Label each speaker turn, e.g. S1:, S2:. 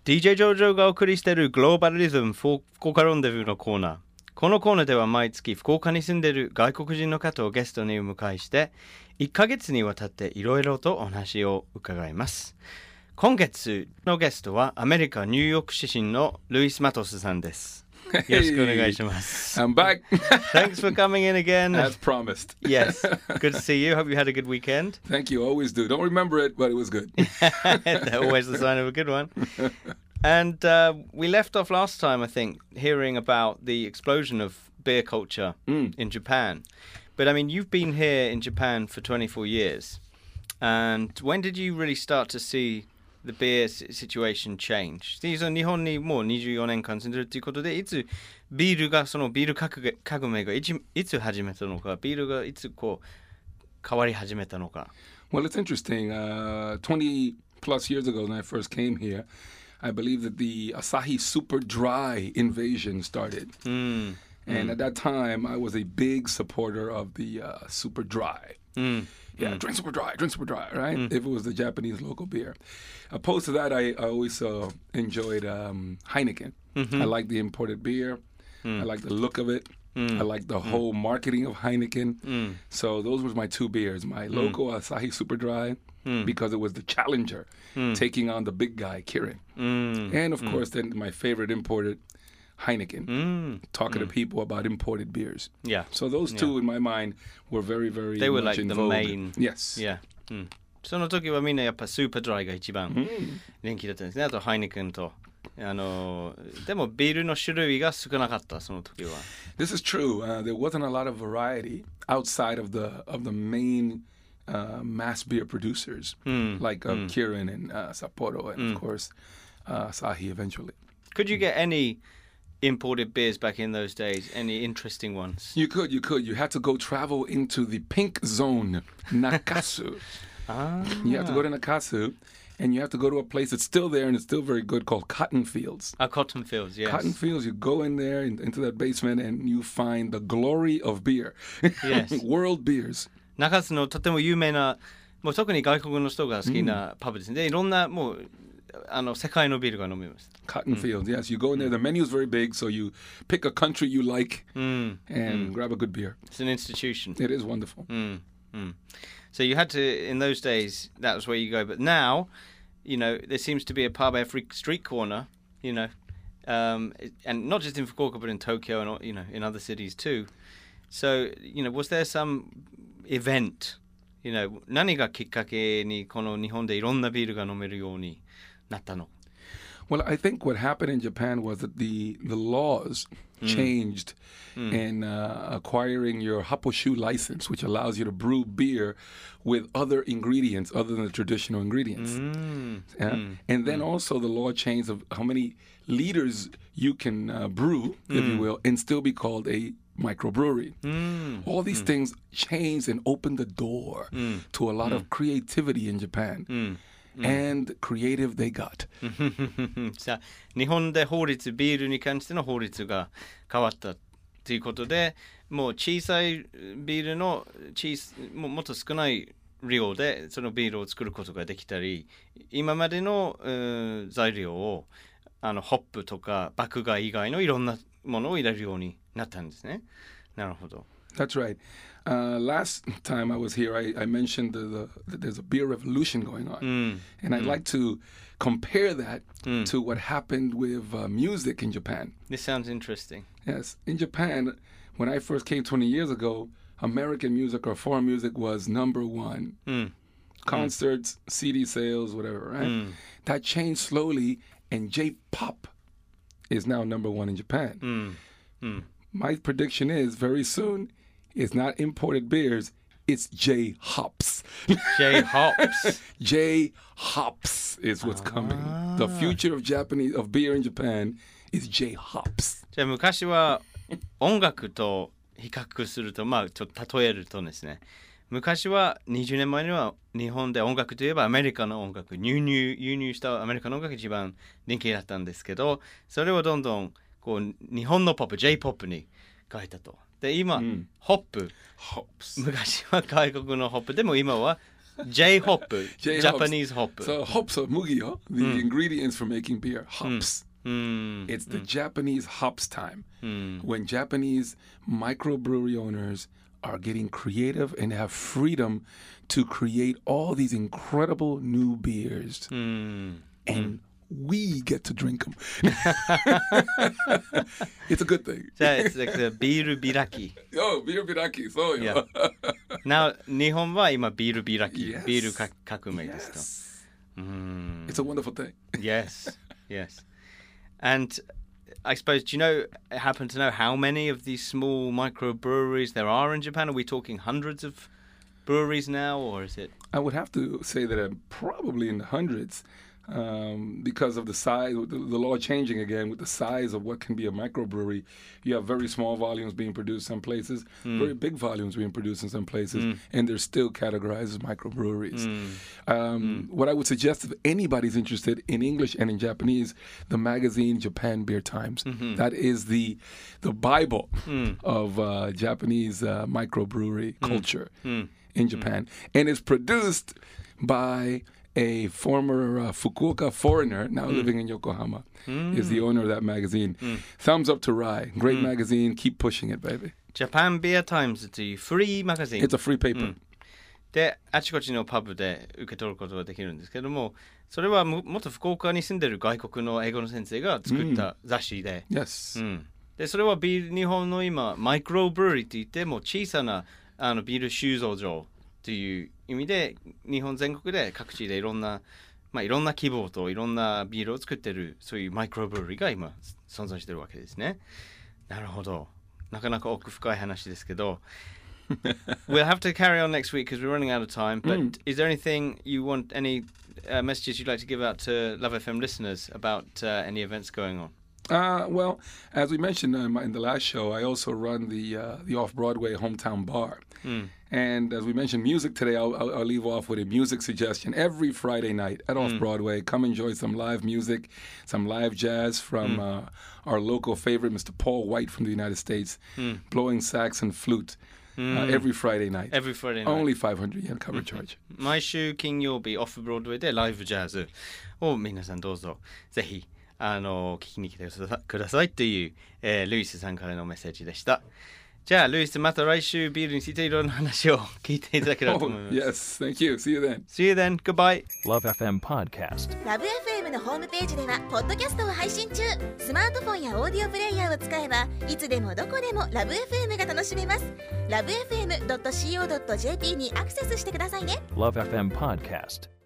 S1: DJ ジョージョがお送りしているグローバルリズム福岡ロンデブーのコーナー。このコーナーでは毎月福岡に住んでいる外国人の方をゲストにお迎えして1ヶ月にわたっていろいろとお話を伺います。今月のゲストはアメリカ・ニューヨーク出身のルイス・マトスさんです。
S2: Hey,
S1: よろしくお願いします。
S2: I'm back.
S1: Thanks for coming in again.
S2: As promised.
S1: Yes, good to see you. Hope you had a good weekend.
S2: Thank you. Always do. Don't remember it, but it was good.
S1: Always the sign of a good one. And we left off last time, I think, hearing about the explosion of beer culture in Japan. But I mean, you've been here in Japan for 24 years. And when did you really start to see the beer situation change? 日本にもう24年間住んでるということで、いつビールがそのビール革命がいつ始めたのか、ビールがいつこう変わり始めたのか。
S2: Well, it's interesting. 20 plus years ago when I first came here, I believe that the Asahi Super Dry invasion started. And at that time, I was a big supporter of the Super Dry. Yeah, drink Super Dry, right? If it was the Japanese local beer. Opposed to that, I always enjoyed Heineken. I like the imported beer. I like the look of it. I like the whole marketing of Heineken. So those were my two beers. My local Asahi Super Dry, because it was the challenger taking on the big guy, Kirin. And of course, then my favorite imported, Heineken, talking to people about imported beers.
S1: Yeah.
S2: So those two, in my mind, were very, very
S1: They were
S2: much
S1: like
S2: in
S1: the
S2: vogue.
S1: main.
S2: Yes.
S1: Yeah. その時はみんなやっぱスーパードライが一番人気だったんですね。あとハイネケンと。でもビールの種類が少なかったその時は。
S2: This is true. There wasn't a lot of variety outside of the main mass beer producers like Kirin and Sapporo and of course Asahi eventually.
S1: Could you get any imported beers back in those days? Any interesting ones?
S2: You could. You had to go travel into the pink zone, Nakasu. You have to go to Nakasu, and you have to go to a place that's still there and it's still very good called Cotton Fields.
S1: Cotton Fields, yes.
S2: Cotton Fields, you go in there into that basement and you find the glory of beer.
S1: Yes.
S2: World beers.
S1: 中津のとても有名な、もう特に外国の人が好きなパブですね。でいろんなもう世界のビールが飲めます。
S2: Cotton Fields, yes. You go in there, the menu is very big, so you pick a country you like and grab a good beer.
S1: It's an institution.
S2: It is wonderful.
S1: So you had to, in those days, that was where you go. But now, you know, there seems to be a pub every street corner, you know, and not just in Fukuoka, but in Tokyo and, you know, in other cities too. So, you know, was there some event, you know, 何がきっかけにこの日本でいろんなビールが飲めるようになったの?
S2: Well, I think what happened in Japan was that the laws changed in acquiring your Haposhu license, which allows you to brew beer with other ingredients other than the traditional ingredients. And then also the law changed of how many liters you can brew, if you will, and still be called a microbrewery. All these things changed and opened the door to a lot of creativity in Japan.And creative they got.
S1: さあ日本でビールに関しての法律が変わったということで、もう小さいビールのもっと少ない量でそのビールを作ることができたり、今までの、材料をホップとか麦芽以外のいろんなものを入れるようになったんですね。なるほど。
S2: That's right. Last time I was here, I mentioned that there's a beer revolution going on. And I'd like to compare that to what happened with music in Japan.
S1: This sounds interesting.
S2: Yes. In Japan, when I first came 20 years ago, American music or foreign music was number one. Concerts, CD sales, whatever, right? That changed slowly, and J-pop is now number one in Japan. My prediction is very soon, it's not imported beers, it's J-hops.
S1: J-hops.
S2: J-hops is what's coming. The future of beer in Japan is J-hops.
S1: じゃあ昔は音楽と比較すると、まあちょっと例えるとですね、昔は20年前には日本で音楽といえばアメリカの音楽、輸入したアメリカの音楽が一番人気だったんですけど、それをどんどんこう日本のポップ J-POP に変えたと。で今、ホップ昔は外国のホップでも今は J-hop, Japanese hop.
S2: So hops are mugi, yo. The ingredients for making beer, hops. It's the Japanese hops time when Japanese microbrewery owners are getting creative and have freedom to create all these incredible new beers. And we get to drink them. It's a good thing.
S1: It's like the ビール開き.
S2: Oh, ビール開き. So,
S1: yeah. Now, 日本は今ビール開き.
S2: Yes.
S1: ビール革命ですと.
S2: Yes. It's a wonderful thing.
S1: Yes, yes. And I suppose, do you happen to know how many of these small microbreweries there are in Japan? Are we talking hundreds of breweries now, or is it?
S2: I would have to say that I'm probably in the hundreds. Because of the size, the law changing again with the size of what can be a microbrewery. You have very small volumes being produced some places, very big volumes being produced in some places, and they're still categorized as microbreweries. What I would suggest, if anybody's interested in English and in Japanese, the magazine Japan Beer Times. That is the Bible of Japanese microbrewery culture in Japan. And it's produced by a former Fukuoka foreigner, now living in Yokohama, is the owner of that magazine. Thumbs up to Rai. Great magazine. Keep pushing it, baby.
S1: Japan Beer Times というフリーマガジン。
S2: It's a free paper.
S1: で、あちこちのパブで受け取ることができるんですけども、それは元福岡に住んでる外国の英語の先生が作った雑誌で、
S2: Yes.
S1: で、それは日本の今、マイクロブルーリーって言って、もう小さなビール収蔵所という意味で日本全国で各地でいろんな規模といろんなビールを作ってるそういうマイクロブルーリーが今存在してるわけですね。なるほど。なかなか奥深い話ですけどWe'll have to carry on next week because we're running out of time, but is there anything you want, any messages you'd like to give out to Love FM listeners about any events going on?
S2: Well, as we mentioned in the last show, I also run the Off-Broadway Hometown Bar. And as we mentioned music today, I'll leave off with a music suggestion. Every Friday night at Off-Broadway, come enjoy some live music, some live jazz from our local favorite, Mr. Paul White from the United States, blowing sax and flute. Every Friday night.
S1: Every Friday night.
S2: Only 500 yen cover charge.
S1: 毎週金曜日、オフブロードウェイでライブジャズを皆さんどうぞぜひ聞きに来てくださいという、ルイスさんからのメッセージでした。じゃあルイスまた来週ビールについていろんな話を聞いていただければと思います。
S2: Yes, thank you. See you then.
S1: See you then. Goodbye.
S3: Love FM Podcast.
S4: Love FM のホームページではポッドキャストを配信中。スマートフォンやオーディオプレイヤーを使えばいつでもどこでもラブ FM が楽しめます。LoveFM.co.jp にアクセスしてくださいね。
S3: Love FM Podcast.